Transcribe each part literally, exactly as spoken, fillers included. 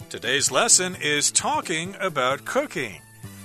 Today's lesson is talking about cooking.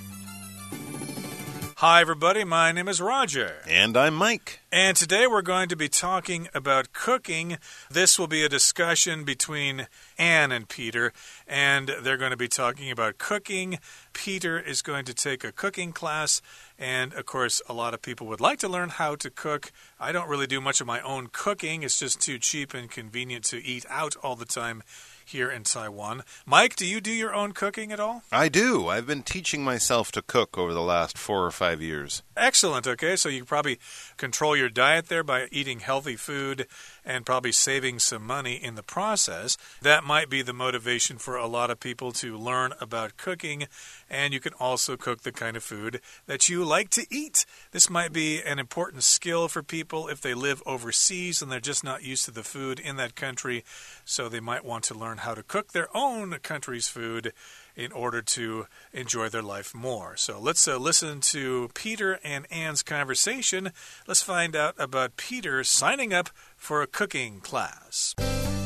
Hi, everybody. My name is Roger. And I'm Mike. And today we're going to be talking about cooking. This will be a discussion between Anne and Peter, and they're going to be talking about cooking. Peter is going to take a cooking class, and of course, a lot of people would like to learn how to cook. I don't really do much of my own cooking. It's just too cheap and convenient to eat out all the time here in Taiwan. Mike, do you do your own cooking at all? I do. I've been teaching myself to cook over the last four or five years. Excellent. Okay, so you probably control your diet there by eating healthy food and probably saving some money in the process. That might be the motivation for a lot of people to learn about cooking, and you can also cook the kind of food that you like to eat. This might be an important skill for people if they live overseas and they're just not used to the food in that country, so they might want to learn how to cook their own country's food in order to enjoy their life more. So let's uh, listen to Peter and Anne's conversation. Let's find out about Peter signing up for a cooking class.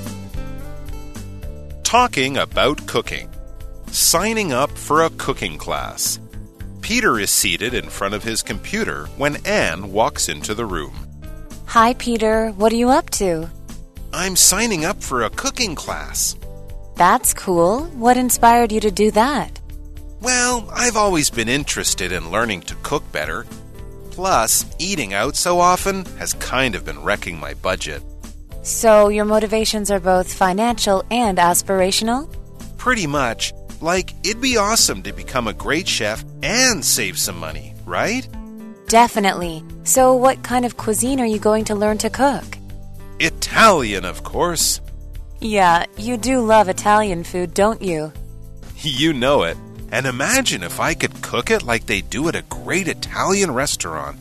Talking about cooking. Signing up for a cooking class. Peter is seated in front of his computer when Anne walks into the room. Hi, Peter. What are you up to? I'm signing up for a cooking class. That's cool. What inspired you to do that? Well, I've always been interested in learning to cook better. Plus, eating out so often has kind of been wrecking my budget. So your motivations are both financial and aspirational? Pretty much. Like, it'd be awesome to become a great chef and save some money, right? Definitely. So what kind of cuisine are you going to learn to cook? Italian, of course. Yeah, you do love Italian food, don't you? You know it. And imagine if I could cook it like they do at a great Italian restaurant.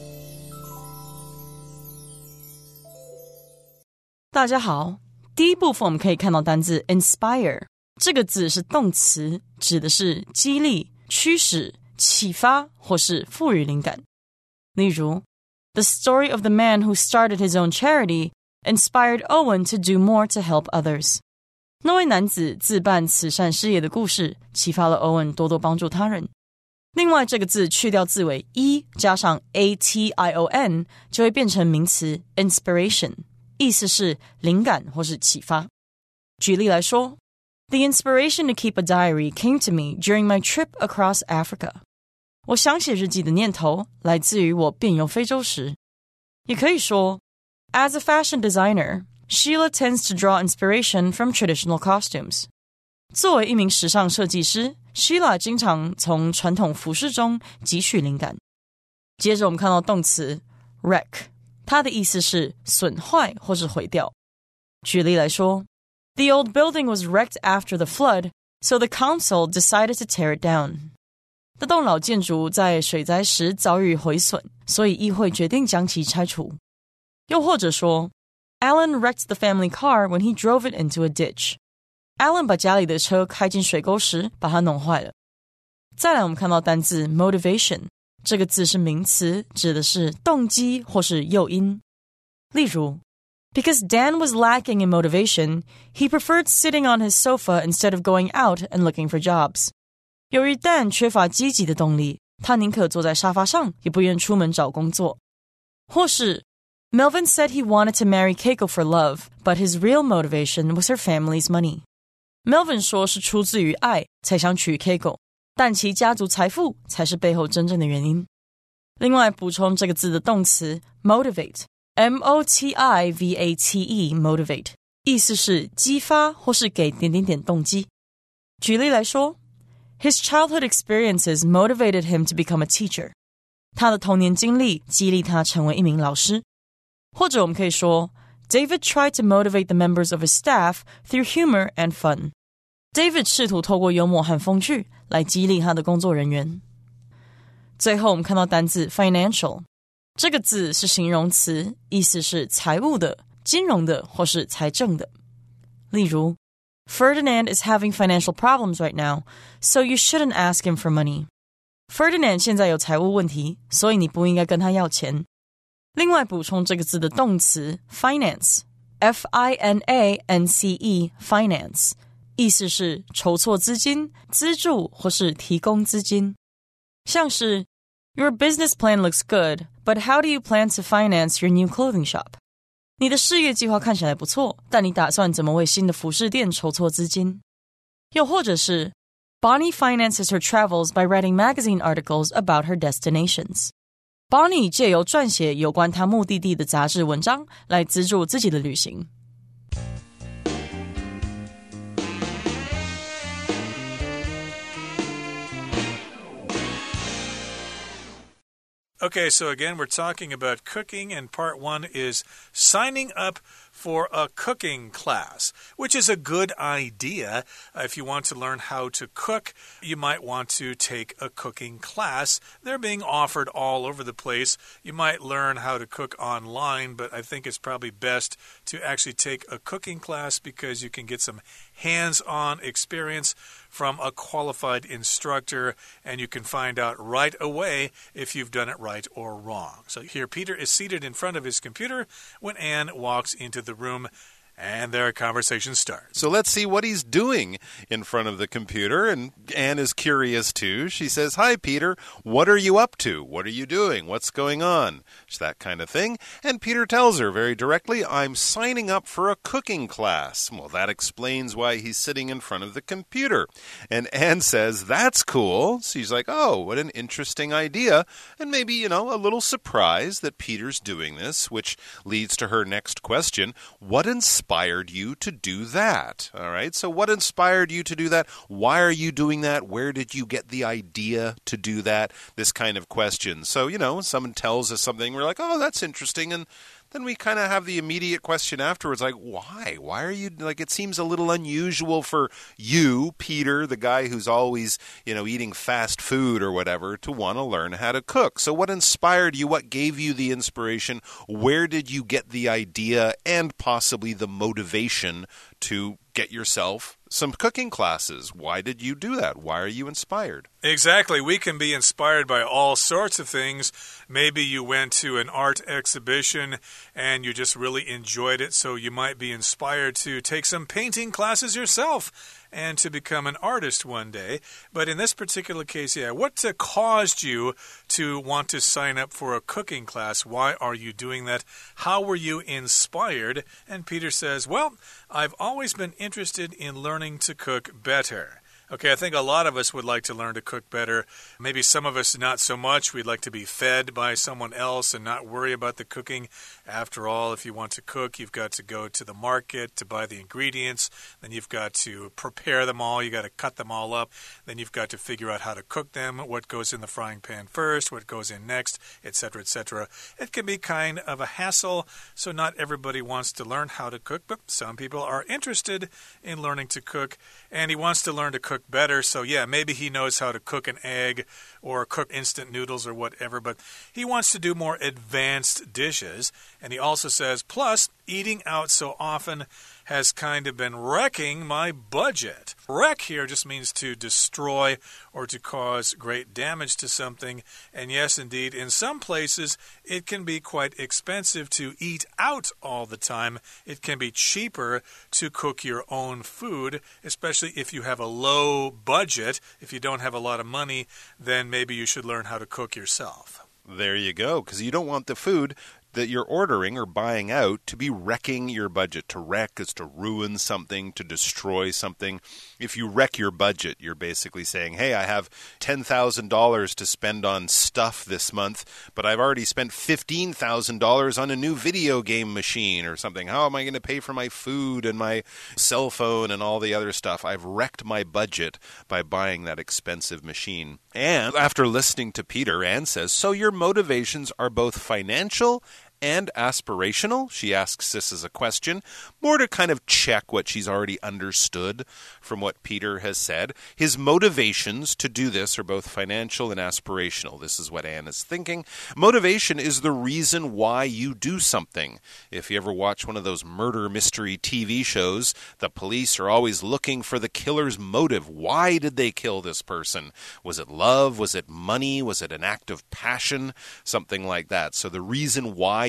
大家好，第一部分我们可以看到单字 inspire， 这个字是动詞，指的是激勵、驅使、啟發或是賦予靈感。例如 The story of the man who started his own charity inspired Owen to do more to help others. 那位男子自辦慈善事業的故事啟發了 Owen 多多幫助他人。另外這個字去掉字尾 e 加上 a t i o n 就會變成名詞 inspiration， 意思是靈感或是啟發。舉例來說 The inspiration to keep a diary came to me during my trip across Africa. 我想寫日記的念頭來自於我遍遊非洲時。也可以說As a fashion designer, Sheila tends to draw inspiration from traditional costumes. 作為一名時尚設計師 Sheila 經常從傳統服飾中汲取靈感。接着我們看到動詞 wreck， 它的意思是損壞或是毀掉。舉例來說 The old building was wrecked after the flood, so the council decided to tear it down. 這棟老建築在水災時遭遇毀損，所以議會決定將其拆除。又或者說 Alan wrecked the family car when he drove it into a ditch. Alan 把家裡的車開進水溝時把它弄壞了。再來我們看到單字 motivation， 這個字是名詞，指的是動機或是誘因。例如 Because Dan was lacking in motivation, he preferred sitting on his sofa instead of going out and looking for jobs. 由於 Dan 缺乏積極的動力，他寧可坐在沙發上，也不願出門找工作。或是Melvin said he wanted to marry Keiko for love, but his real motivation was her family's money. Melvin 說是出自於愛才想娶 Keiko, 但其家族財富才是背後真正的原因。另外補充這個字的動詞 motivate, M O T I V A T E, motivate, 意思是激發或是給點點點動機。舉例來說 His childhood experiences motivated him to become a teacher. 他的童年經歷激勵他成為一名老師。或者我們可以說 David tried to motivate the members of his staff through humor and fun. David 試圖透過幽默和風趣來激勵他的工作人員。最後我們看到單字 financial， 這個字是形容詞，意思是財務的、金融的或是財政的。例如 Ferdinand is having financial problems right now, so you shouldn't ask him for money. Ferdinand 現在有財務問題，所以你不應該跟他要錢。另外補充這個字的動詞 finance, F I N A N C E, finance, 意思是籌措資金、資助或是提供資金。像是 Your business plan looks good, but how do you plan to finance your new clothing shop? 你的事業計劃看起來不錯，但你打算怎麼為新的服飾店籌措資金？又或者是 Bonnie finances her travels by writing magazine articles about her destinations. Bonnie 借由撰寫有關她目的地的雜誌文章來資助自己的旅行。 Okay, so again, we're talking about cooking, and part one is signing up for a cooking class, which is a good idea. Uh, if you want to learn how to cook, you might want to take a cooking class. They're being offered all over the place. You might learn how to cook online, but I think it's probably best to actually take a cooking class because you can get some hands-on experience from a qualified instructor, and you can find out right away if you've done it right or wrong. So here Peter is seated in front of his computer when Anne walks into the room, and their conversation starts. So let's see what he's doing in front of the computer. And Anne is curious too. She says, "Hi, Peter. What are you up to? What are you doing? What's going on?" It's that kind of thing. And Peter tells her very directly, "I'm signing up for a cooking class." Well, that explains why he's sitting in front of the computer. And Anne says, "That's cool." She's like, "Oh, what an interesting idea." And maybe, you know, a little surprised that Peter's doing this, which leads to her next question. What inspired you to do that? All right, so what inspired you to do that? Why are you doing that? Where did you get the idea to do that? This kind of question. So, you know, someone tells us something, we're like, oh, that's interesting, and then we kind of have the immediate question afterwards, like, why? Why are you, like, it seems a little unusual for you, Peter, the guy who's always, you know, eating fast food or whatever, to want to learn how to cook. So what inspired you? What gave you the inspiration? Where did you get the idea and possibly the motivation to get yourself some cooking classes? Why did you do that? Why are you inspired? Exactly. We can be inspired by all sorts of things. Maybe you went to an art exhibition and you just really enjoyed it, so you might be inspired to take some painting classes yourself and to become an artist one day. But in this particular case, yeah, what uh, caused you to want to sign up for a cooking class? Why are you doing that? How were you inspired? And Peter says, well, I've always been interested in learning to cook better. Okay, I think a lot of us would like to learn to cook better. Maybe some of us not so much. We'd like to be fed by someone else and not worry about the cooking. After all, if you want to cook, you've got to go to the market to buy the ingredients. Then you've got to prepare them all. You've got to cut them all up. Then you've got to figure out how to cook them, what goes in the frying pan first, what goes in next, et cetera, et cetera. It can be kind of a hassle, so not everybody wants to learn how to cook, but some people are interested in learning to cook, and he wants to learn to cook better. So yeah, maybe he knows how to cook an egg or cook instant noodles or whatever, but he wants to do more advanced dishes. And he also says, plus, eating out so often has kind of been wrecking my budget. Wreck here just means to destroy or to cause great damage to something. And yes, indeed, in some places, it can be quite expensive to eat out all the time. It can be cheaper to cook your own food, especially if you have a low budget. If you don't have a lot of money, then maybe you should learn how to cook yourself. There you go, because you don't want the food that you're ordering or buying out to be wrecking your budget. To wreck is to ruin something, to destroy something. If you wreck your budget, you're basically saying, hey, I have ten thousand dollars to spend on stuff this month, but I've already spent fifteen thousand dollars on a new video game machine or something. How am I going to pay for my food and my cell phone and all the other stuff? I've wrecked my budget by buying that expensive machine. And after listening to Peter, Anne says, so your motivations are both financial and aspirational? She asks this as a question, more to kind of check what she's already understood from what Peter has said. His motivations to do this are both financial and aspirational. This is what Anne is thinking. Motivation is the reason why you do something. If you ever watch one of those murder mystery T V shows, the police are always looking for the killer's motive. Why did they kill this person? Was it love? Was it money? Was it an act of passion? Something like that. So the reason why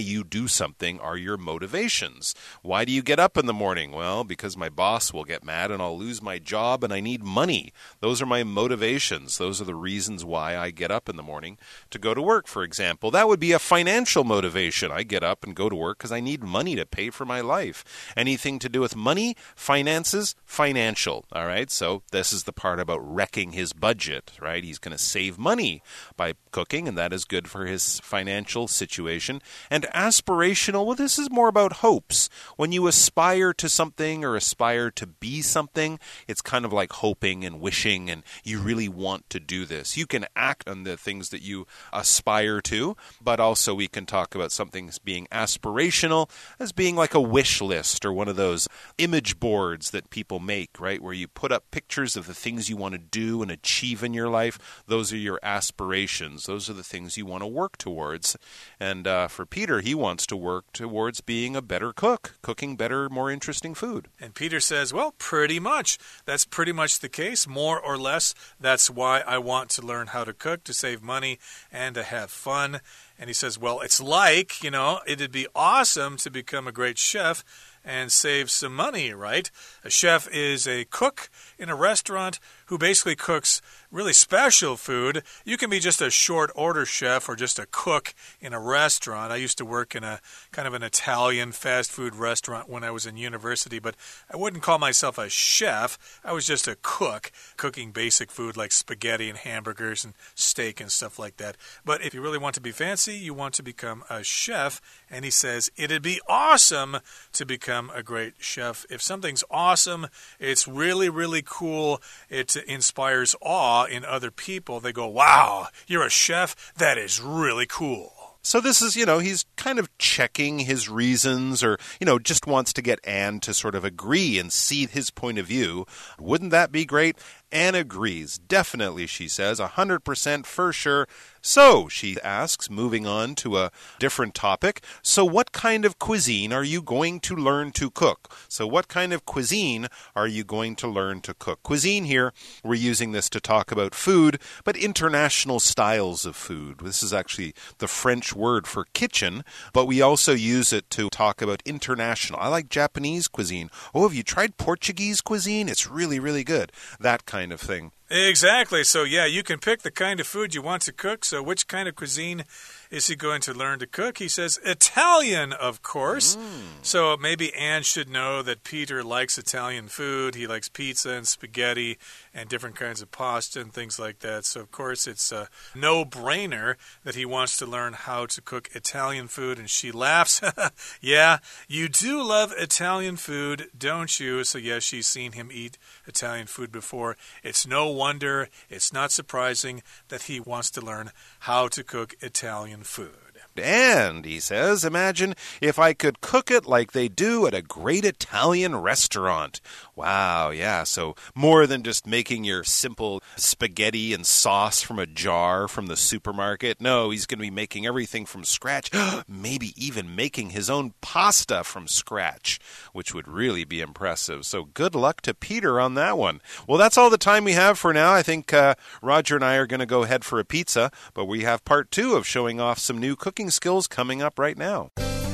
you do something are your motivations. Why do you get up in the morning? Well, because my boss will get mad and I'll lose my job and I need money. Those are my motivations. Those are the reasons why I get up in the morning to go to work, for example. That would be a financial motivation. I get up and go to work because I need money to pay for my life. Anything to do with money, finances, financial. All right, so this is the part about wrecking his budget, right? He's going to save money by cooking, and that is good for his financial situation. And aspirational, well, this is more about hopes. When you aspire to something or aspire to be something, it's kind of like hoping and wishing, and you really want to do this. You can act on the things that you aspire to, but also we can talk about something being aspirational as being like a wish list or one of those image boards that people make, right, where you put up pictures of the things you want to do and achieve in your life. Those are your aspirations. Those are the things you want to work towards. And uh, for Peter, he wants to work towards being a better cook, cooking better, more interesting food. And Peter says, well, pretty much. That's pretty much the case, more or less. That's why I want to learn how to cook, to save money and to have fun. And he says, well, it's like, you know, it'd be awesome to become a great chef and save some money, right? A chef is a cook in a restaurant who basically cooks really special food. You can be just a short order chef or just a cook in a restaurant. I used to work in a kind of an Italian fast food restaurant when I was in university, but I wouldn't call myself a chef. I was just a cook, cooking basic food like spaghetti and hamburgers and steak and stuff like that. But if you really want to be fancy, you want to become a chef. And he says, it'd be awesome to become a great chef. If something's awesome, it's really, really cool. It inspires awe in other people. They go, wow, you're a chef? That is really cool. So this is, you know, he's kind of checking his reasons or, you know, just wants to get Anne to sort of agree and see his point of view. Wouldn't that be great? Anne agrees. Definitely, she says. one hundred percent for sure. So, she asks, moving on to a different topic. So what kind of cuisine are you going to learn to cook? So what kind of cuisine are you going to learn to cook? Cuisine here, we're using this to talk about food, but international styles of food. This is actually the French word for kitchen, but we also use it to talk about international. I like Japanese cuisine. Oh, have you tried Portuguese cuisine? It's really, really good. That kind of thing. Exactly. So, yeah, you can pick the kind of food you want to cook. So which kind of cuisine is he going to learn to cook? He says Italian, of course. Mm. So maybe Anne should know that Peter likes Italian food. He likes pizza and spaghetti and different kinds of pasta and things like that. So, of course, it's a no-brainer that he wants to learn how to cook Italian food. And she laughs. Yeah, you do love Italian food, don't you? So, yes, she's seen him eat Italian food before. It's no wonder, it's not surprising that he wants to learn how to cook Italian food. And, he says, imagine if I could cook it like they do at a great Italian restaurant. Wow, yeah, so more than just making your simple spaghetti and sauce from a jar from the supermarket. No, he's going to be making everything from scratch, maybe even making his own pasta from scratch, which would really be impressive. So good luck to Peter on that one. Well, that's all the time we have for now. I think uh, Roger and I are going to go head for a pizza, but we have part two of showing off some new cooking skills coming up right now.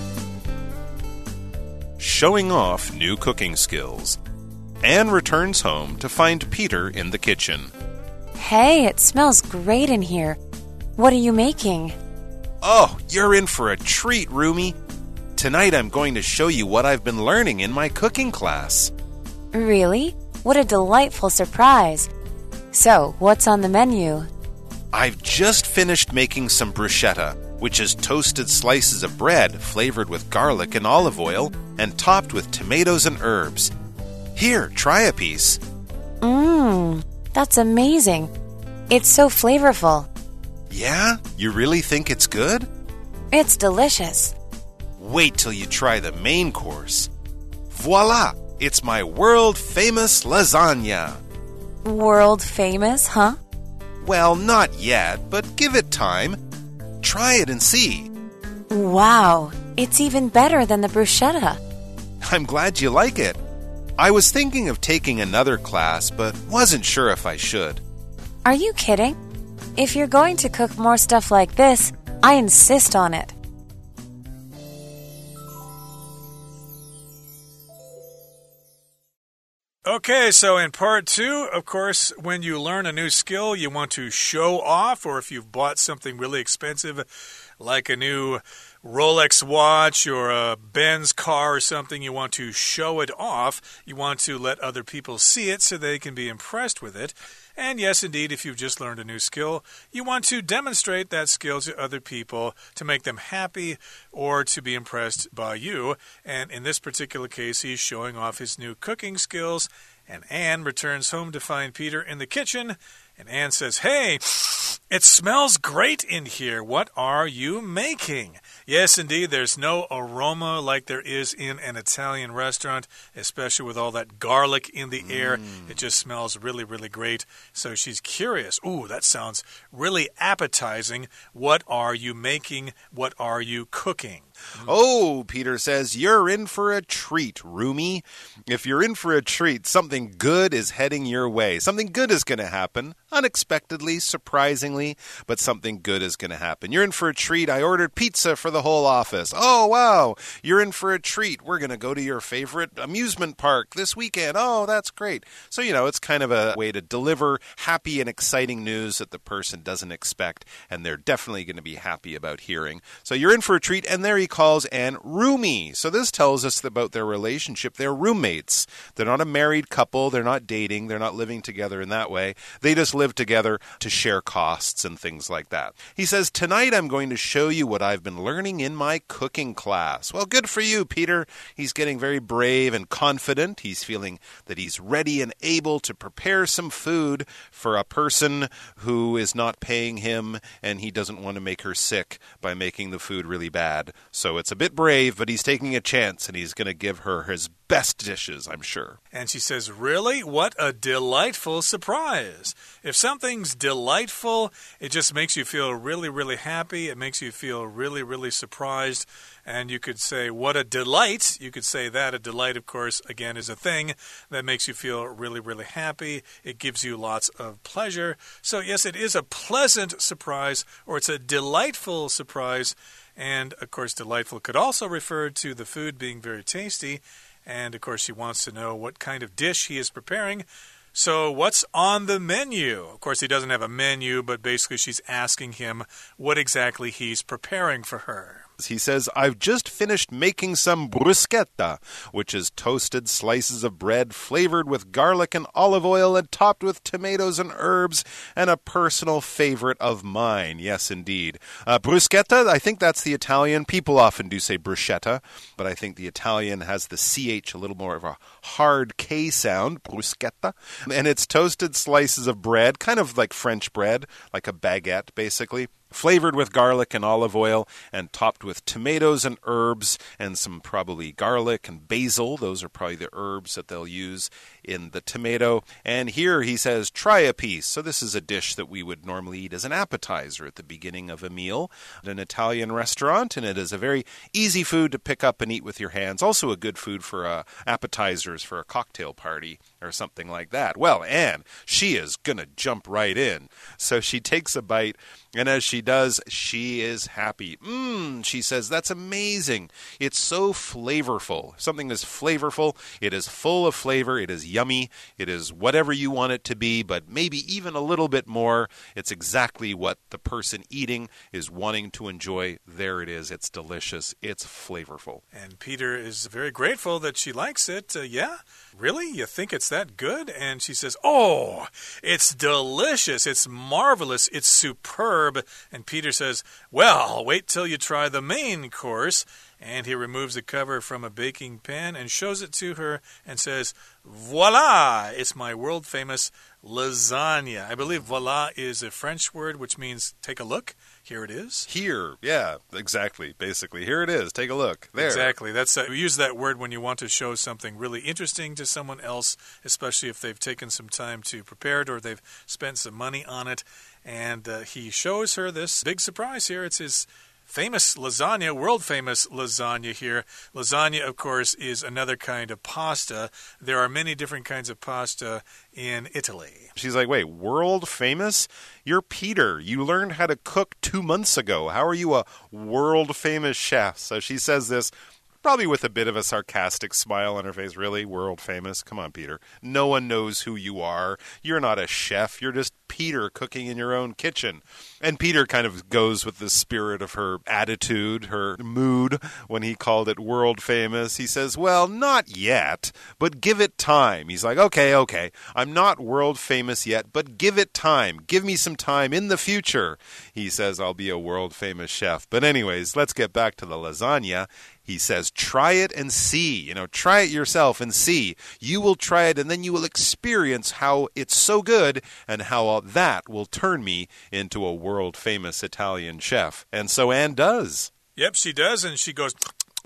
Showing off new cooking skills. Anne returns home to find Peter in the kitchen. Hey, it smells great in here. What are you making? Oh, you're in for a treat, Rumi. Tonight I'm going to show you what I've been learning in my cooking class. Really? What a delightful surprise. So, what's on the menu? I've just finished making some bruschetta, which is toasted slices of bread flavored with garlic and olive oil and topped with tomatoes and herbs. Here, try a piece. Mmm, that's amazing. It's so flavorful. Yeah? You really think it's good? It's delicious. Wait till you try the main course. Voila! It's my world-famous lasagna. World famous, huh? Well, not yet, but give it time. Try it and see. Wow, it's even better than the bruschetta. I'm glad you like it. I was thinking of taking another class, but wasn't sure if I should. Are you kidding? If you're going to cook more stuff like this, I insist on it. Okay, so in part two, of course, when you learn a new skill, you want to show off, or if you've bought something really expensive, like a new Rolex watch or a Benz car or something, you want to show it off. You want to let other people see it so they can be impressed with it. And yes, indeed, if you've just learned a new skill, you want to demonstrate that skill to other people to make them happy or to be impressed by you. And in this particular case, he's showing off his new cooking skills. And Anne returns home to find Peter in the kitchen. And Anne says, "Hey, it smells great in here. What are you making?" Yes, indeed, there's no aroma like there is in an Italian restaurant, especially with all that garlic in the air. Mm. It just smells really, really great. So she's curious. Ooh, that sounds really appetizing. What are you making? What are you cooking? Mm. Oh, Peter says, you're in for a treat, Rumi. If you're in for a treat, something good is heading your way. Something good is going to happen. Unexpectedly, surprisingly, but something good is going to happen. You're in for a treat. I ordered pizza for the whole office. Oh, wow. You're in for a treat. We're going to go to your favorite amusement park this weekend. Oh, that's great. So, you know, it's kind of a way to deliver happy and exciting news that the person doesn't expect, and they're definitely going to be happy about hearing. So you're in for a treat, and there he calls Anne Rumi. So this tells us about their relationship. They're roommates. They're not a married couple. They're not dating. They're not living together in that way. They just live together to share costs and things like that. He says, tonight I'm going to show you what I've been learning in my cooking class. Well, good for you, Peter. He's getting very brave and confident. He's feeling that he's ready and able to prepare some food for a person who is not paying him, and he doesn't want to make her sick by making the food really bad. So it's a bit brave, but he's taking a chance, and he's going to give her his best dishes, I'm sure. And she says, really? What a delightful surprise. If something's delightful, it just makes you feel really, really happy. It makes you feel really, really surprised. And you could say, what a delight. You could say that. A delight, of course, again, is a thing that makes you feel really, really happy. It gives you lots of pleasure. So, yes, it is a pleasant surprise, or it's a delightful surprise. And, of course, delightful could also refer to the food being very tasty. And, of course, she wants to know what kind of dish he is preparing. So what's on the menu? Of course, he doesn't have a menu, but basically she's asking him what exactly he's preparing for her. He says, I've just finished making some bruschetta, which is toasted slices of bread flavored with garlic and olive oil and topped with tomatoes and herbs, and a personal favorite of mine. Yes, indeed. Uh, bruschetta, I think that's the Italian. People often do say bruschetta, but I think the Italian has the C H a little more of a hard K sound, bruschetta. And it's toasted slices of bread, kind of like French bread, like a baguette, basically. Flavored with garlic and olive oil and topped with tomatoes and herbs and some probably garlic and basil. Those are probably the herbs that they'll use in the tomato. And here he says, try a piece. So this is a dish that we would normally eat as an appetizer at the beginning of a meal at an Italian restaurant. And it is a very easy food to pick up and eat with your hands. Also a good food for uh, appetizers for a cocktail party or something like that. Well, Anne, she is going to jump right in. So she takes a bite, and as she does, she is happy. Mmm, she says, that's amazing. It's so flavorful. If something is flavorful, it is full of flavor, it is yummy, it is whatever you want it to be, but maybe even a little bit more. It's exactly what the person eating is wanting to enjoy. There it is. It's delicious. It's flavorful. And Peter is very grateful that she likes it. Uh, yeah? Really? You think it's that good? And she says, oh, it's delicious. It's marvelous. It's superb. And Peter says, well, wait till you try the main course. And he removes the cover from a baking pan and shows it to her and says, voila, it's my world-famous lasagna. I believe voila is a French word which means take a look. Here it is. Here, yeah, exactly. Basically, here it is. Take a look. There. Exactly. That's uh, we use that word when you want to show something really interesting to someone else, especially if they've taken some time to prepare it or they've spent some money on it. And uh, he shows her this big surprise here. It's his famous lasagna, world-famous lasagna here. Lasagna, of course, is another kind of pasta. There are many different kinds of pasta in Italy. She's like, wait, world-famous? You're Peter. You learned how to cook two months ago. How are you a world-famous chef? So she says this probably with a bit of a sarcastic smile on her face. Really? World famous? Come on, Peter. No one knows who you are. You're not a chef. You're just Peter cooking in your own kitchen. And Peter kind of goes with the spirit of her attitude, her mood, when he called it world famous. He says, well, not yet, but give it time. He's like, okay, okay, I'm not world famous yet, but give it time. Give me some time in the future. He says, I'll be a world famous chef. But anyways, let's get back to the lasagna. He says, try it and see. You know, try it yourself and see. You will try it and then you will experience how it's so good and how that will turn me into a world-famous Italian chef. And so Anne does. Yep, she does, and she goes,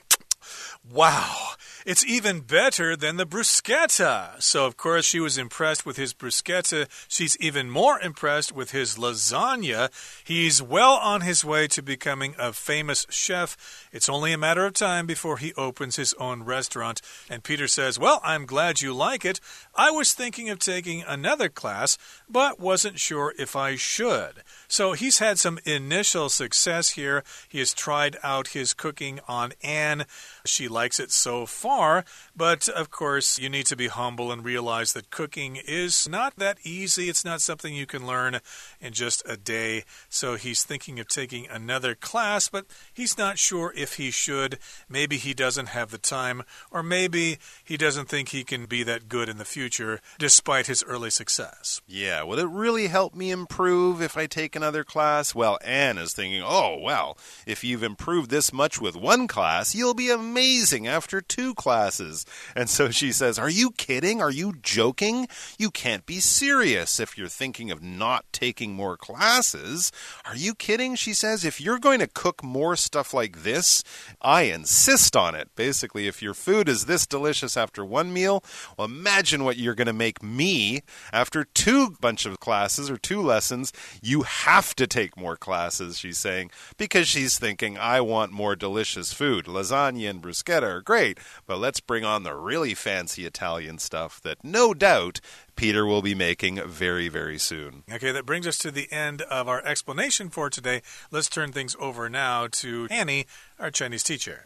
wow, it's even better than the bruschetta. So, of course, she was impressed with his bruschetta. She's even more impressed with his lasagna. He's well on his way to becoming a famous chef. It's only a matter of time before he opens his own restaurant. And Peter says, well, I'm glad you like it. I was thinking of taking another class, but wasn't sure if I should. So he's had some initial success here. He has tried out his cooking on Anne. She likes it so far, but of course you need to be humble and realize that cooking is not that easy. It's not something you can learn in just a day. So he's thinking of taking another class, but he's not sure if he should. Maybe he doesn't have the time, or maybe he doesn't think he can be that good in the future despite his early success. Yeah, will it really help me improve if I take another class? Well, Anne is thinking, oh, well, if you've improved this much with one class, you'll be amazing after two classes. And so she says, are you kidding? Are you joking? You can't be serious if you're thinking of not taking more classes. Are you kidding? She says, if you're going to cook more stuff like this, I insist on it. Basically, if your food is this delicious after one meal, well, imagine what you're going to make me after two bunch of classes or two lessons. You have to take more classes, she's saying, because she's thinking, I want more delicious food. Lasagna and bruschetta are great, but let's bring on the really fancy Italian stuff that no doubt Peter will be making very, very soon. Okay, that brings us to the end of our explanation for today. Let's turn things over now to Annie, our Chinese teacher.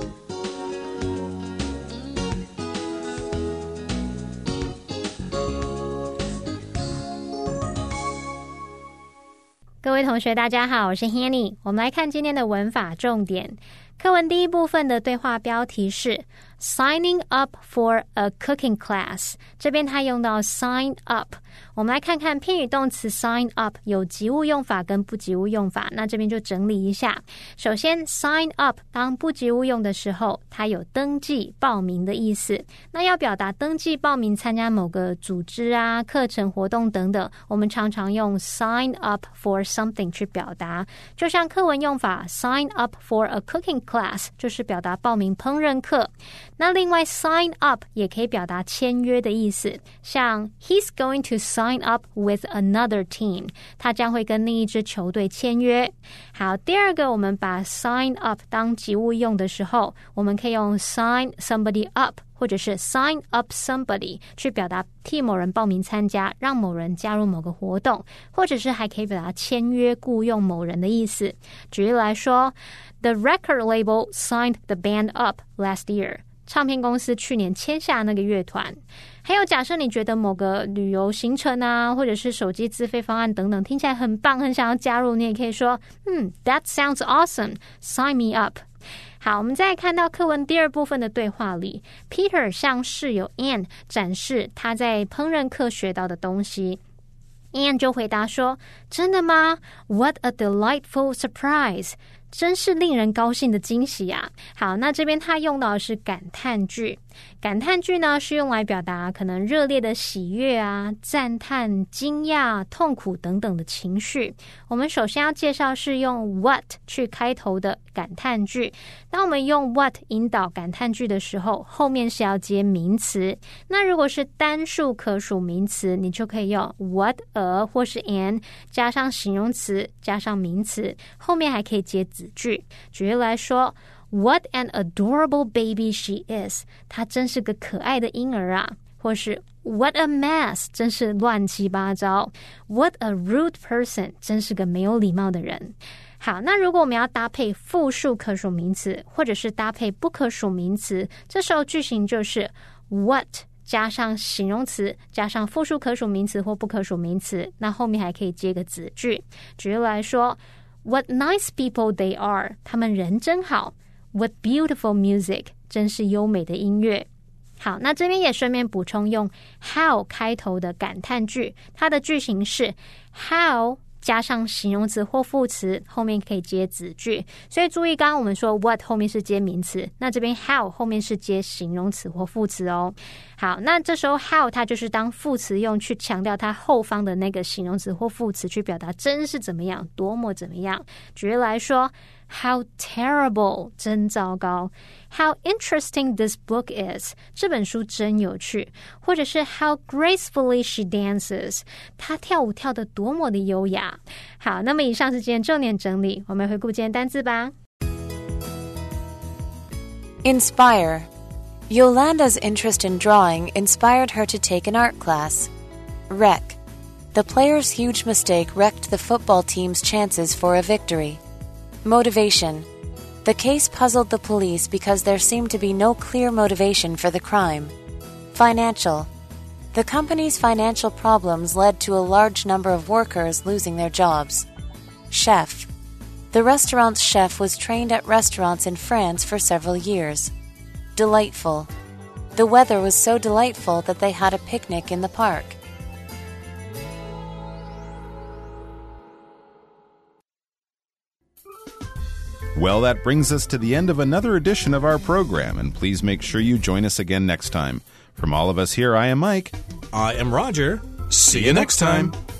各位同学大家好，我是 Hanny。 我们来看今天的文法重点。課文第一部分的對話標題是 Signing up for a cooking class， 這邊它用到 sign up。 我們來看看片語動詞 sign up 有及物用法跟不及物用法，那這邊就整理一下。首先 sign up 當不及物用的時候，它有登記報名的意思。那要表達登記報名參加某個組織啊、課程活動等等，我們常常用 sign up for something 去表達。就像課文用法 sign up for a cooking class 就是表達報名烹飪課。那另外 sign up 也可以表達簽約的意思，像 He's going to sign up with another team， 他將會跟另一支球隊簽約。好，第二個我們把 sign up 當及物用的時候，我們可以用 sign somebody up 或者是 sign up somebody 去表達替某人報名參加，讓某人加入某個活動，或者是還可以表達簽約僱用某人的意思。舉例來說 The record label signed the band up last year， 唱片公司去年簽下那個樂團。還有假設你覺得某個旅遊行程啊，或者是手機資費方案等等聽起來很棒，很想要加入，你也可以說嗯 That sounds awesome, sign me up。好，我們再看到課文第二部分的對話裡 Peter 向室友 Anne 展示他在烹飪課學到的東西。Anne 就回答說，真的嗎？ What a delightful surprise， 真是令人高興的驚喜啊。好，那這邊他用到的是感嘆句。感嘆句呢是用來表達可能熱烈的喜悅啊、讚嘆、驚訝、痛苦等等的情緒。我們首先要介紹是用 what 去開頭的感嘆句。當我們用 what 引導感嘆句的時候，後面是要接名詞。那如果是單數可數名詞，你就可以用 what a 或是 an 加上形容詞加上名詞，後面還可以接子句。舉例來說What an adorable baby she is， 她真是個可愛的嬰兒啊。或是 What a mess， 真是亂七八糟。What a rude person， 真是個沒有禮貌的人。 好，那如果我們要搭配複數可數名詞，或者是搭配不可數名詞，這時候句型就是 what 加上形容詞，加上複數可數名詞或不可數名詞，那後面還可以接個子句。舉例來說 What nice people they are， 他們人真好。 What beautiful music， 真是優美的音樂。好，那這邊也順便補充用 how 開頭的感嘆句，它的句型是 how加上形容詞或副詞，後面可以接子句。所以注意，剛剛我們說 what 後面是接名詞，那這邊 how 後面是接形容詞或副詞哦。好，那這時候 how 它就是當副詞用，去強調它後方的那個形容詞或副詞，去表達真是怎麼樣，多麼怎麼樣。舉例來說，How terrible， 真糟糕。How interesting this book is， 這本書真有趣。或者是 How gracefully she dances， 她跳舞跳得多麼的優雅。好，那麼以上是今天重點整理，我們回顧今天單字吧。 Inspire. Yolanda's interest in drawing inspired her to take an art class. Wreck. The player's huge mistake wrecked the football team's chances for a victory.Motivation. The case puzzled the police because there seemed to be no clear motivation for the crime. Financial. The company's financial problems led to a large number of workers losing their jobs. Chef. The restaurant's chef was trained at restaurants in France for several years. Delightful. The weather was so delightful that they had a picnic in the park.Well, that brings us to the end of another edition of our program, and please make sure you join us again next time. From all of us here, I am Mike. I am Roger. See you next time.